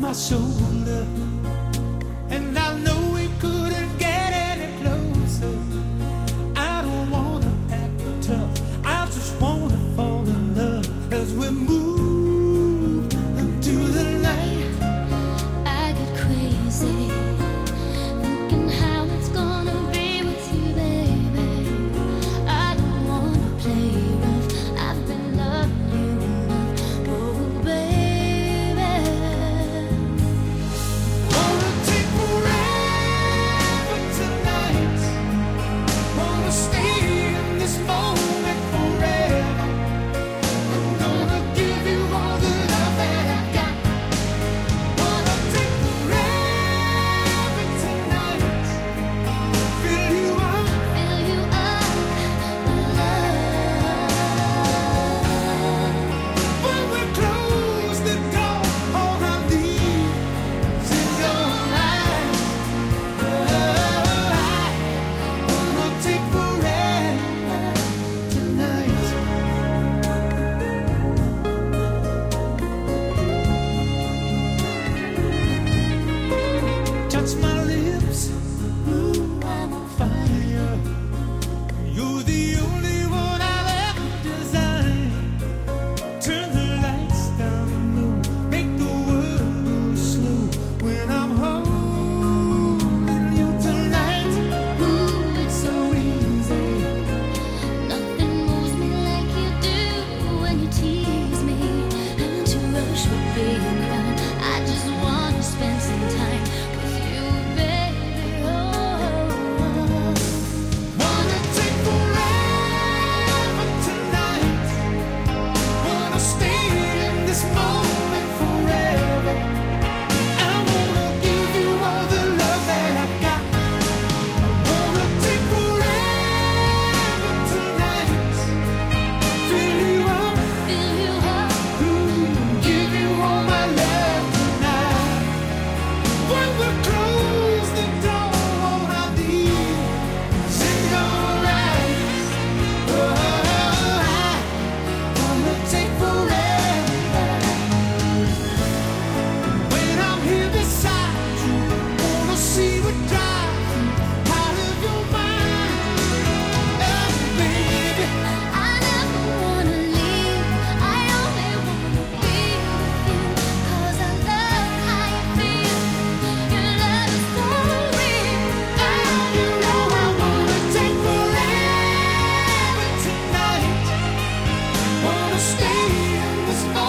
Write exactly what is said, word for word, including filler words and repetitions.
my shoulder, and I know we couldn't get any closer. I don't wanna act tough, I just wanna fall in love as we move into the night. I get crazy thinking how it's gonna be with you, baby. I don't wanna play rough, I've been loving you enough, oh baby. Wanna take forever tonight, wanna stay in this moment forever. I'm gonna give you all the love that I got. Wanna take forever tonight, fill you up. Fill you up with love. When we close the door, all I need is your eyes. I wanna take forever tonight. Touch my lips, ooh, I'm on fire. You're the only one I've ever designed. Turn the lights down low, make the world go slow when I'm holding you tonight. Ooh, it's so easy. Nothing moves me like you do when you tease me. And to rush would be a crime. I just wanna spend some time with you, baby. Oh, Wanna take forever tonight, wanna stay in this moment forever. I wanna give you all the love that I got. I wanna take forever tonight, fill you up, fill you up. give you all my love tonight. When we close the door, all I need is in your eyes. Oh, I wanna take forever. When I'm here beside you, wanna see what drives you out of your mind. Oh, baby. I never wanna leave. I only wanna be with you. 'Cause I love how you feel. Your love is so real. You know I wanna take forever tonight. Wanna stay in this moment